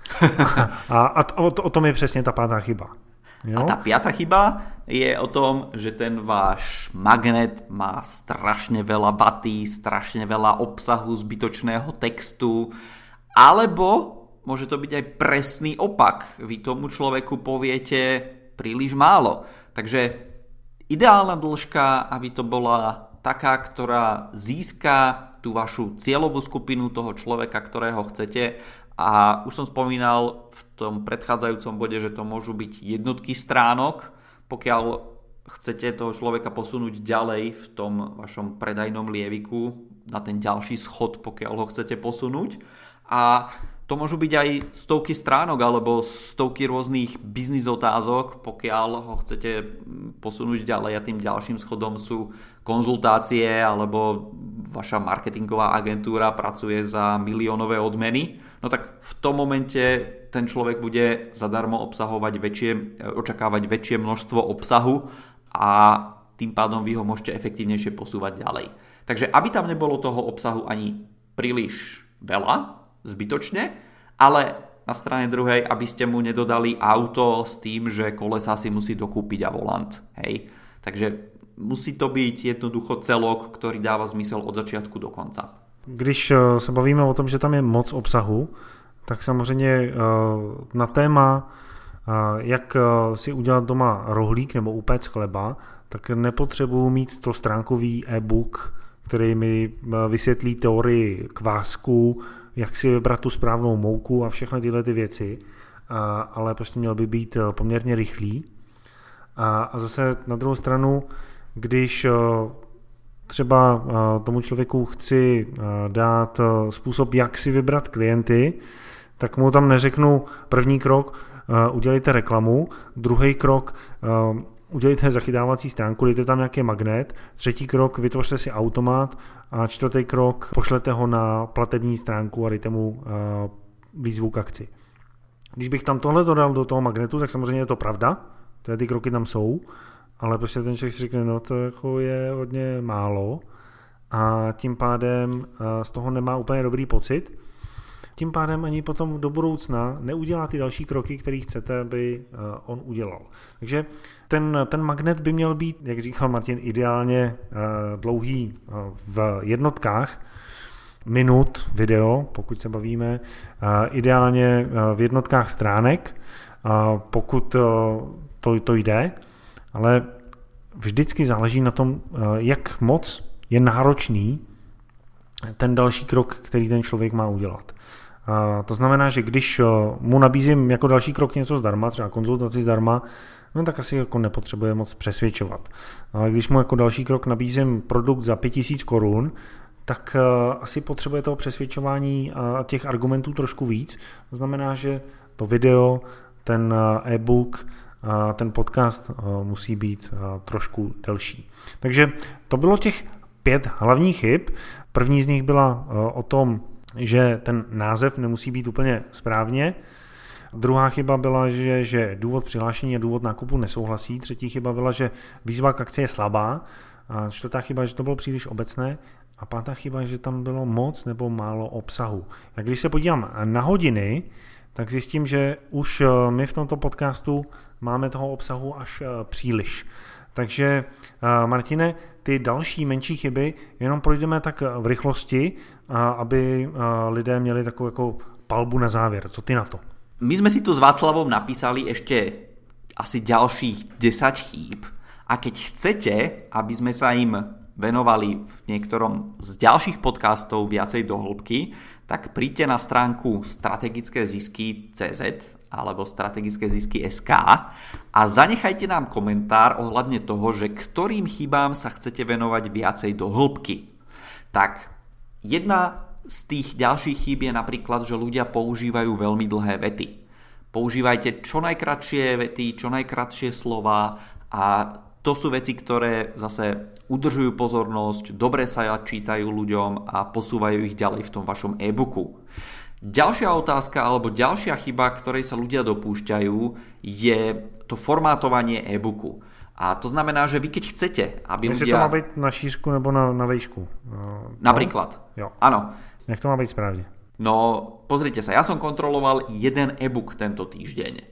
[SPEAKER 1] A o tom je přesně ta 5. chyba. Jo?
[SPEAKER 2] A tá 5. chyba je o tom, že ten váš magnet má strašne veľa vaty, strašne veľa obsahu, zbytočného textu, alebo môže to byť aj presný opak. Vy tomu človeku poviete príliš málo. Takže ideálna dĺžka, aby to bola taká, ktorá získa tú vašu cieľovú skupinu toho človeka, ktorého chcete. A už som spomínal v tom predchádzajúcom bode, že to môžu byť jednotky stránok, pokiaľ chcete toho človeka posunúť ďalej v tom vašom predajnom lieviku na ten ďalší schod, pokiaľ ho chcete posunúť. A to môžu byť aj stovky stránok alebo stovky rôznych biznis otázok, pokiaľ ho chcete posunúť ďalej a tým ďalším schodom sú konzultácie alebo vaša marketingová agentúra pracuje za miliónové odmeny. No tak v tom momente ten človek bude zadarmo očakávať väčšie množstvo obsahu a tým pádom vy ho môžete efektívnejšie posúvať ďalej. Takže aby tam nebolo toho obsahu ani príliš veľa, zbytočne, ale na strane druhej, aby ste mu nedodali auto s tým, že kolesa si musí dokúpiť a volant. Hej? Takže musí to byť jednoducho celok, ktorý dáva zmysel od začiatku do konca.
[SPEAKER 1] Když se bavíme o tom, že tam je moc obsahu, tak samozřejmě na téma, jak si udělat doma rohlík nebo upéct chleba, tak nepotřebuji mít 100stránkový e-book, který mi vysvětlí teorii kvásku, jak si vybrat tu správnou mouku a všechny tyhle ty věci, ale prostě měl by být poměrně rychlý. A zase na druhou stranu, když třeba tomu člověku chci dát způsob, jak si vybrat klienty, tak mu tam neřeknu první krok, udělejte reklamu, druhý krok, udělejte zachytávací stránku, dejte tam nějaký magnet, třetí krok, vytvořte si automat a čtvrtý krok, pošlete ho na platební stránku a dejte mu výzvu k akci. Když bych tam tohle dodal do toho magnetu, tak samozřejmě je to pravda, ty kroky tam jsou, ale prostě ten člověk si řekne, no to jako je hodně málo a tím pádem z toho nemá úplně dobrý pocit. Tím pádem ani potom do budoucna neudělá ty další kroky, které chcete, aby on udělal. Takže ten magnet by měl být, jak říkal Martin, ideálně dlouhý v jednotkách minut video, pokud se bavíme, ideálně v jednotkách stránek, pokud to jde, ale vždycky záleží na tom, jak moc je náročný ten další krok, který ten člověk má udělat. To znamená, že když mu nabízím jako další krok něco zdarma, třeba konzultaci zdarma, no tak asi jako nepotřebuje moc přesvědčovat. Ale když mu jako další krok nabízím produkt za 5000 korun, tak asi potřebuje toho přesvědčování a těch argumentů trošku víc. To znamená, že to video, ten e-book, ten podcast musí být trošku delší. Takže to bylo těch 5 hlavních chyb. První z nich byla o tom, že ten název nemusí být úplně správně. Druhá chyba byla, že důvod přihlášení a důvod nákupu nesouhlasí. Třetí chyba byla, že výzva k akci je slabá. A čtvrtá chyba, že to bylo příliš obecné. A pátá chyba, že tam bylo moc nebo málo obsahu. A když se podívám na hodiny, tak zjistím, že už my v tomto podcastu máme toho obsahu až příliš. Takže Martine, ty další menší chyby jenom projdeme tak v rychlosti, aby lidé měli takovou jako palbu na závěr. Co ty na to?
[SPEAKER 2] My sme si tu s Václavom napísali ešte asi ďalších 10 chýb a keď chcete, aby sme sa im venovali v niektorom z ďalších podcastov viacej do hĺbky, tak príďte na stránku strategické zisky.cz alebo strategické zisky.sk a zanechajte nám komentár ohľadne toho, že ktorým chybám sa chcete venovať viacej do hĺbky. Tak jedna z tých ďalších chýb je napríklad, že ľudia používajú veľmi dlhé vety. Používajte čo najkratšie vety, čo najkratšie slova a to sú veci, ktoré zase udržujú pozornosť, dobre sa čítajú ľuďom a posúvajú ich ďalej v tom vašom e-booku. Ďalšia otázka alebo ďalšia chyba, ktorej sa ľudia dopúšťajú, je to formátovanie e-booku. A to znamená, že vy keď chcete, aby
[SPEAKER 1] Jestli
[SPEAKER 2] ľudia...
[SPEAKER 1] to má být na šířku nebo na výšku?
[SPEAKER 2] Napríklad.
[SPEAKER 1] Jo.
[SPEAKER 2] Áno.
[SPEAKER 1] Jak to má být správne?
[SPEAKER 2] No, pozrite sa, ja som kontroloval jeden e-book tento týždeň.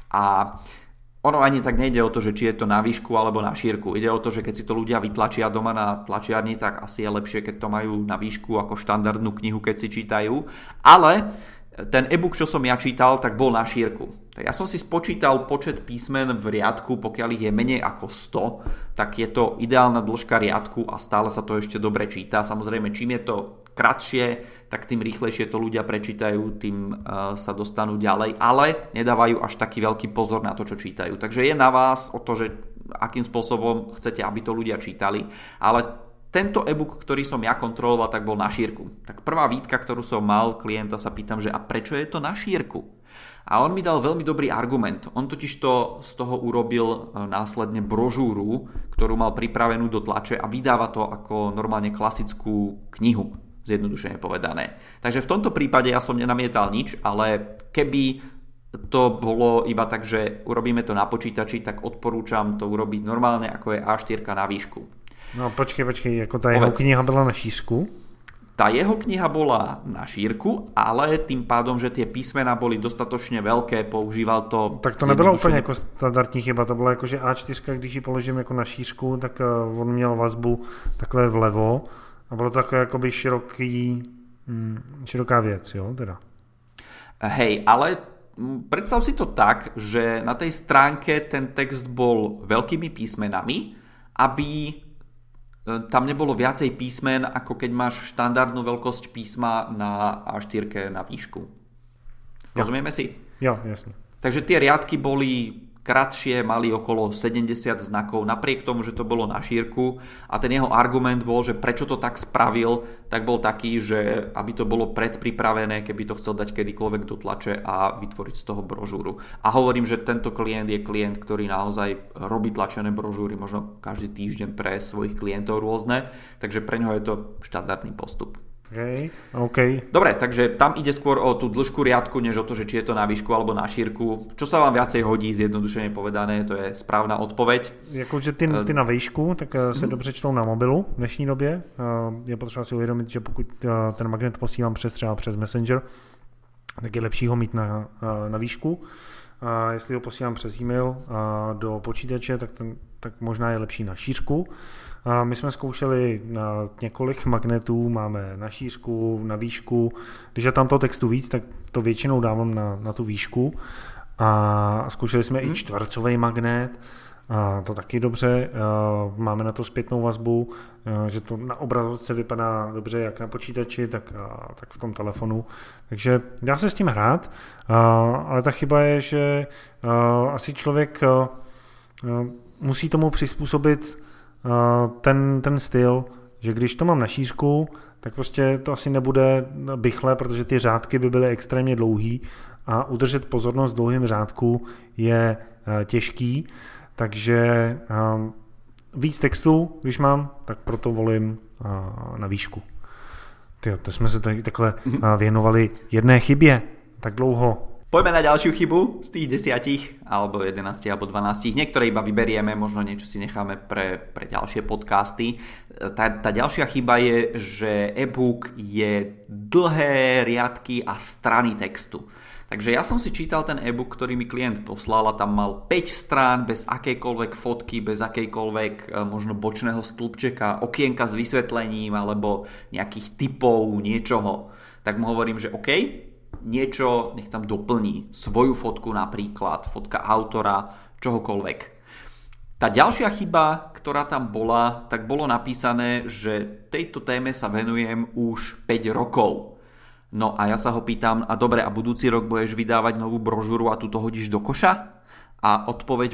[SPEAKER 2] A ono ani tak nejde o to, že či je to na výšku alebo na šírku. Ide o to, že keď si to ľudia vytlačia doma na tlačiarni, tak asi je lepšie, keď to majú na výšku ako štandardnú knihu, keď si čítajú. Ale ten e-book, čo som ja čítal, tak bol na šírku. Tak ja som si spočítal počet písmen v riadku, pokiaľ ich je menej ako 100, tak je to ideálna dĺžka riadku a stále sa to ešte dobre číta. Samozrejme, čím je to kratšie, tak tým rýchlejšie to ľudia prečítajú, tým sa dostanú ďalej, ale nedávajú až taký veľký pozor na to, čo čítajú. Takže je na vás o to, že akým spôsobom chcete, aby to ľudia čítali, ale tento e-book, ktorý som ja kontroloval, tak bol na šírku. Tak prvá výtka, ktorú som mal, klienta sa pýtam, že a prečo je to na šírku? A on mi dal veľmi dobrý argument. On totiž to z toho urobil následne brožúru, ktorú mal pripravenú do tlače a vydáva to ako normálne klasickú knihu, zjednodušene povedané. Takže v tomto prípade ja som nenamietal nič, ale keby to bolo iba tak, že urobíme to na počítači, tak odporúčam to urobiť normálne, ako je A4 na výšku.
[SPEAKER 1] No počkej, ako tá jeho kniha bola na šířku?
[SPEAKER 2] Tá jeho kniha bola na šírku, ale tým pádom, že tie písmená boli dostatočne veľké, používal to...
[SPEAKER 1] Tak to nebylo úplně jako standardní chyba, to bylo jako, že A4, když ji položím jako na šířku, tak on měl vazbu takhle vlevo a bylo to takové jakoby široká věc, jo, teda.
[SPEAKER 2] Hej, ale predstav si to tak, že na tej stránke ten text bol veľkými písmenami, aby tam nebolo viacej písmen, ako keď máš štandardnú veľkosť písma na A4 na výšku. Rozumieme si?
[SPEAKER 1] Jo, jasne.
[SPEAKER 2] Takže tie riadky boli kratšie, mali okolo 70 znakov, napriek tomu, že to bolo na šírku a ten jeho argument bol, že prečo to tak spravil, tak bol taký, že aby to bolo predpripravené, keby to chcel dať kedykoľvek do tlače a vytvoriť z toho brožúru. A hovorím, že tento klient je klient, ktorý naozaj robí tlačené brožúry možno každý týždeň pre svojich klientov rôzne, takže pre ňoho je to štandardný postup.
[SPEAKER 1] OK.
[SPEAKER 2] Dobre, takže tam ide skôr o tú dĺžku riadku, než o to, že či je to na výšku alebo na šírku. Čo sa vám viacej hodí, zjednodušene povedané, to je správna odpoveď.
[SPEAKER 1] Jakože ty na výšku, tak se dobře čtou na mobilu v dnešní době. Je potřeba si uvědomit, že pokud ten magnet posílám třeba přes Messenger, tak je lepší ho mít na výšku. A jestli ho posílám přes e-mail do počítače, tak možná je lepší na šířku. My jsme zkoušeli několik magnetů, máme na šířku, na výšku. Když je tam toho textu víc, tak to většinou dávám na tu výšku. A zkoušeli jsme i čtvercový magnet, a to taky dobře. Máme na to zpětnou vazbu, že to na obrazovce vypadá dobře jak na počítači, tak v tom telefonu. Takže dá se s tím hrát, ale ta chyba je, že asi člověk musí tomu přizpůsobit ten styl, že když to mám na šířku, tak prostě to asi nebude bychle, protože ty řádky by byly extrémně dlouhý a udržet pozornost v dlouhém řádku je těžký, takže víc textu, když mám, tak proto volím na výšku. To jsme se takhle věnovali jedné chybě tak dlouho.
[SPEAKER 2] Poďme na ďalšiu chybu z tých 10, alebo 11, alebo 12. Niektoré iba vyberieme, možno niečo si necháme pre ďalšie podcasty. Tá ďalšia chyba je, že e-book je dlhé riadky a strany textu. Takže ja som si čítal ten e-book, ktorý mi klient poslal a tam mal 5 strán bez akejkoľvek fotky, bez akejkoľvek možno bočného stĺpčeka, okienka s vysvetlením alebo nejakých typov, niečoho. Tak mu hovorím, že OK, niečo nech tam doplní, svoju fotku napríklad, fotka autora, čohokoľvek. Tá ďalšia chyba, ktorá tam bola, tak bolo napísané, že tejto téme sa venujem už 5 rokov. No a ja sa ho pýtam, a dobre, a budúci rok budeš vydávať novú brožúru a tu to hodíš do koša? A odpoveď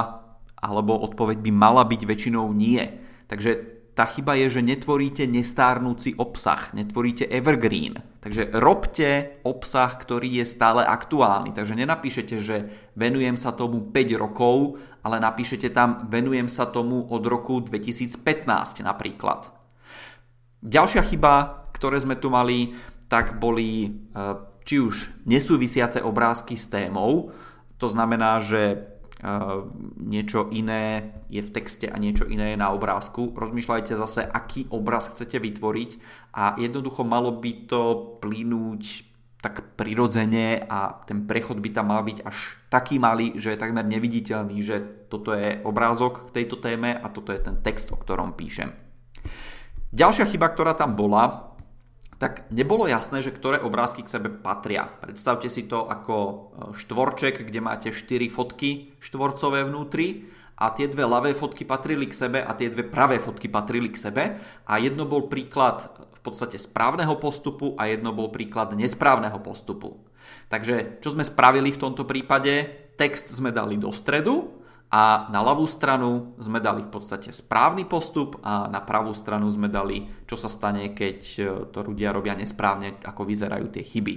[SPEAKER 2] by mala byť väčšinou nie. Takže tá chyba je, že netvoríte nestárnúci obsah, netvoríte evergreen. Takže robte obsah, ktorý je stále aktuálny. Takže nenapíšete, že venujem sa tomu 5 rokov, ale napíšete tam, venujem sa tomu od roku 2015 napríklad. Ďalšia chyba, ktoré sme tu mali, tak boli či už nesúvisiace obrázky s témou. To znamená, že niečo iné je v texte a niečo iné je na obrázku. Rozmýšľajte zase, aký obraz chcete vytvoriť a jednoducho malo by to plynúť tak prirodzene a ten prechod by tam mal byť až taký malý, že je takmer neviditeľný, že toto je obrázok k tejto téme a toto je ten text, o ktorom píšem. Ďalšia chyba, ktorá tam bola, tak nebolo jasné, že ktoré obrázky k sebe patria. Predstavte si to ako štvorček, kde máte 4 fotky štvorcové vnútri a tie dve ľavé fotky patrili k sebe a tie dve pravé fotky patrili k sebe a jedno bol príklad v podstate správneho postupu a jedno bol príklad nesprávneho postupu. Takže čo sme spravili v tomto prípade? Text sme dali do stredu a na ľavú stranu sme dali v podstate správny postup a na pravú stranu sme dali, čo sa stane, keď to ľudia robia nesprávne, ako vyzerajú tie chyby.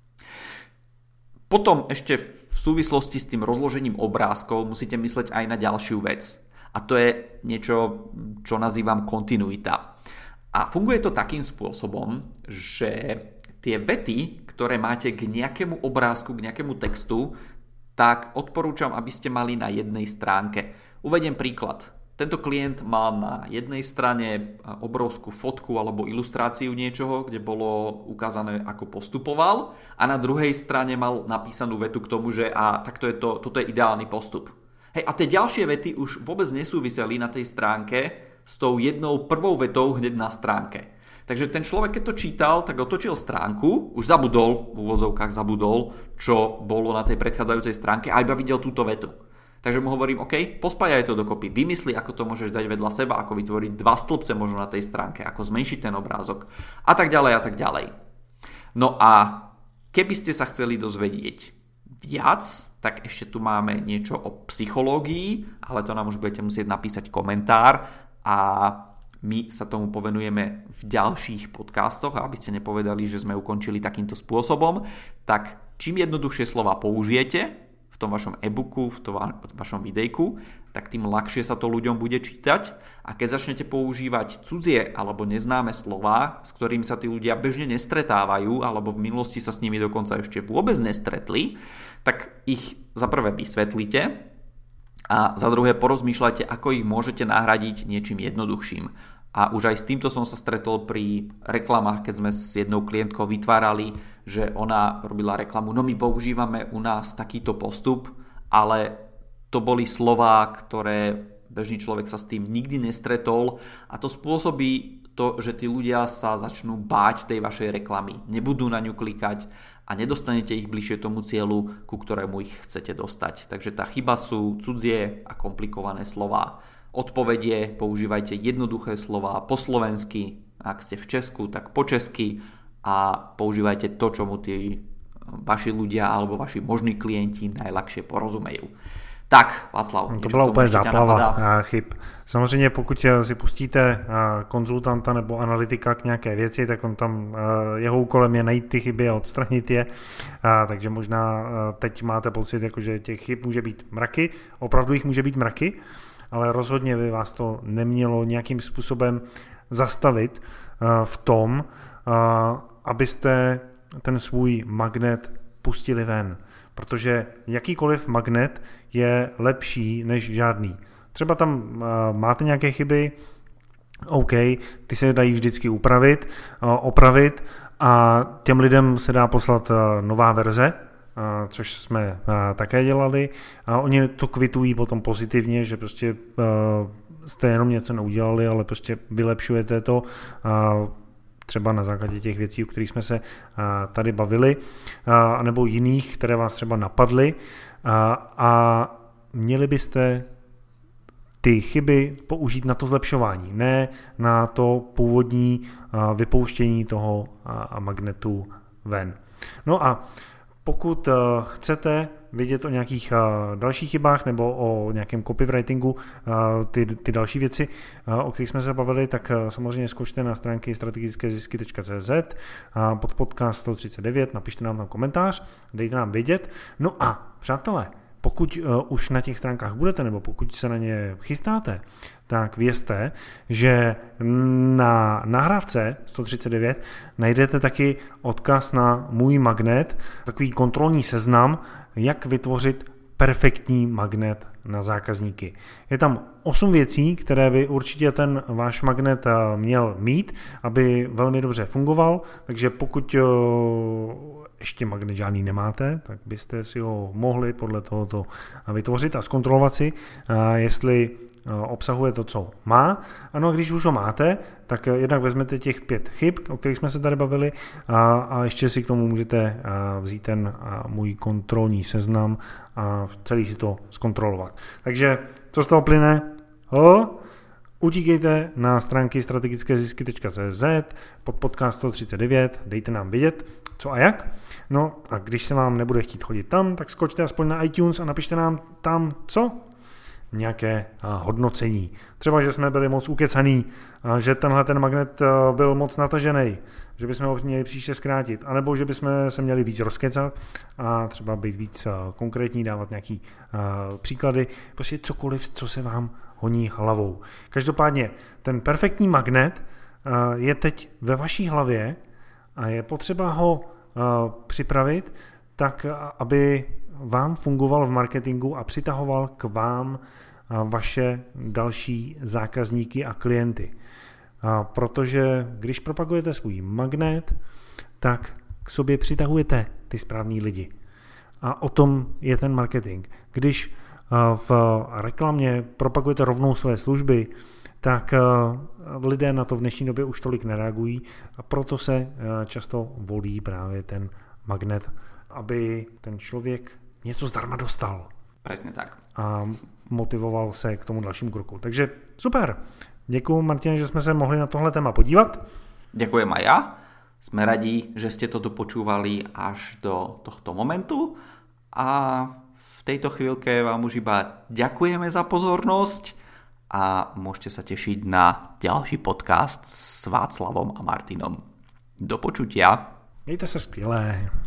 [SPEAKER 2] Potom ešte v súvislosti s tým rozložením obrázkov musíte mysleť aj na ďalšiu vec. A to je niečo, čo nazývam kontinuita. A funguje to takým spôsobom, že tie vety, ktoré máte k nejakému obrázku, k nejakému textu, tak odporúčam, aby ste mali na jednej stránke. Uvediem príklad. Tento klient mal na jednej strane obrovskú fotku alebo ilustráciu niečoho, kde bolo ukázané, ako postupoval a na druhej strane mal napísanú vetu k tomu, že toto je ideálny postup. Hej, a tie ďalšie vety už vôbec nesúviseli na tej stránke s tou jednou prvou vetou hneď na stránke. Takže ten človek, keď to čítal, tak otočil stránku, už v úvozovkách zabudol, čo bolo na tej predchádzajúcej stránke a iba videl túto vetu. Takže mu hovorím, OK, pospájaj to dokopy, vymysli, ako to môžeš dať vedľa seba, ako vytvoriť 2 stĺpce možno na tej stránke, ako zmenšiť ten obrázok a tak ďalej a tak ďalej. No a keby ste sa chceli dozvedieť viac, tak ešte tu máme niečo o psychológii, ale to nám už budete musieť napísať komentár a my sa tomu povenujeme v ďalších podcastoch a aby ste nepovedali, že sme ukončili takýmto spôsobom, tak čím jednoduchšie slova použijete v tom vašom e-booku, v tom vašom videjku, tak tým ľahšie sa to ľuďom bude čítať a keď začnete používať cudzie alebo neznáme slová, s ktorým sa tí ľudia bežne nestretávajú alebo v minulosti sa s nimi dokonca ešte vôbec nestretli, tak ich za prvé vysvetlíte a za druhé porozmýšľajte, ako ich môžete nahradiť niečím jednoduchším. A už aj s týmto som sa stretol pri reklamách, keď sme s jednou klientkou vytvárali, že ona robila reklamu, no my používame u nás takýto postup, ale to boli slová, ktoré bežný človek sa s tým nikdy nestretol a to spôsobí to, že tí ľudia sa začnú báť tej vašej reklamy, nebudú na ňu klikať a nedostanete ich bližšie tomu cieľu, ku ktorému ich chcete dostať. Takže tá chyba sú cudzie a komplikované slová. Odpovedie, používajte jednoduché slová po slovensky, ak ste v Česku, tak po česky a používajte to, čomu tí vaši ľudia alebo vaši možní klienti najľahšie porozumejú. Tak, Václav.
[SPEAKER 1] To byla úplně záplava chyb. Samozřejmě pokud si pustíte konzultanta nebo analytika k nějaké věci, tak on tam, jeho úkolem je najít ty chyby a odstranit je. Takže možná teď máte pocit, jako, že těch chyb může být mraky, opravdu jich může být mraky, ale rozhodně by vás to nemělo nějakým způsobem zastavit v tom, abyste ten svůj magnet pustili ven. protože jakýkoliv magnet je lepší než žádný. Třeba tam máte nějaké chyby, OK, ty se dají vždycky opravit a těm lidem se dá poslat nová verze, což jsme také dělali a oni to kvitují potom pozitivně, že prostě jste jenom něco neudělali, ale prostě vylepšujete to třeba na základě těch věcí, o kterých jsme se tady bavili, nebo jiných, které vás třeba napadly a měli byste ty chyby použít na to zlepšování, ne na to původní vypouštění toho magnetu ven. No a pokud chcete vidět o nějakých dalších chybách nebo o nějakém copywritingu, ty další věci, o kterých jsme se bavili, tak samozřejmě skočte na stránky strategickézisky.cz pod podcast 139, napište nám tam komentář, dejte nám vědět. No a přátelé, pokud už na těch stránkách budete, nebo pokud se na ně chystáte, tak vězte, že na nahrávce 139 najdete taky odkaz na můj magnet, takový kontrolní seznam, jak vytvořit perfektní magnet na zákazníky. Je tam 8 věcí, které by určitě ten váš magnet měl mít, aby velmi dobře fungoval, takže pokud ještě magnet žádný nemáte, tak byste si ho mohli podle tohoto vytvořit a zkontrolovat si, jestli obsahuje to, co má. Ano, a když už ho máte, tak jednak vezmete těch 5 chyb, o kterých jsme se tady bavili a ještě si k tomu můžete vzít ten můj kontrolní seznam a celý si to zkontrolovat. Takže co z toho plyne? Utíkejte na stránky strategickézisky.cz pod podcast 139, dejte nám vědět, co a jak. No a když se vám nebude chtít chodit tam, tak skočte aspoň na iTunes a napište nám tam co? Nějaké hodnocení. Třeba, že jsme byli moc ukecaný, že tenhle ten magnet byl moc natažený, že bychom ho měli příště zkrátit, anebo že bychom se měli víc rozkecat a třeba být víc konkrétní, dávat nějaký příklady, prostě cokoliv, co se vám honí hlavou. Každopádně ten perfektní magnet je teď ve vaší hlavě a je potřeba ho připravit tak, aby vám fungoval v marketingu a přitahoval k vám vaše další zákazníky a klienty. Protože když propagujete svůj magnet, tak k sobě přitahujete ty správný lidi. A o tom je ten marketing. Když v reklamě propagujete rovnou své služby, tak lidé na to v dnešní době už tolik nereagují a proto se často volí právě ten magnet, aby ten člověk něco zdarma dostal.
[SPEAKER 2] Presne tak.
[SPEAKER 1] A motivoval se k tomu dalšímu kroku. Takže super. Děkuju, Martin, že jsme se mohli na tohle téma podívat.
[SPEAKER 2] Ďakujem aj ja. Sme radi, že ste toto počúvali až do tohto momentu a v tejto chvíľke vám už iba ďakujeme za pozornosť a môžete sa tešiť na ďalší podcast s Václavom a Martinom. Do počutia.
[SPEAKER 1] Mějte se skvěle.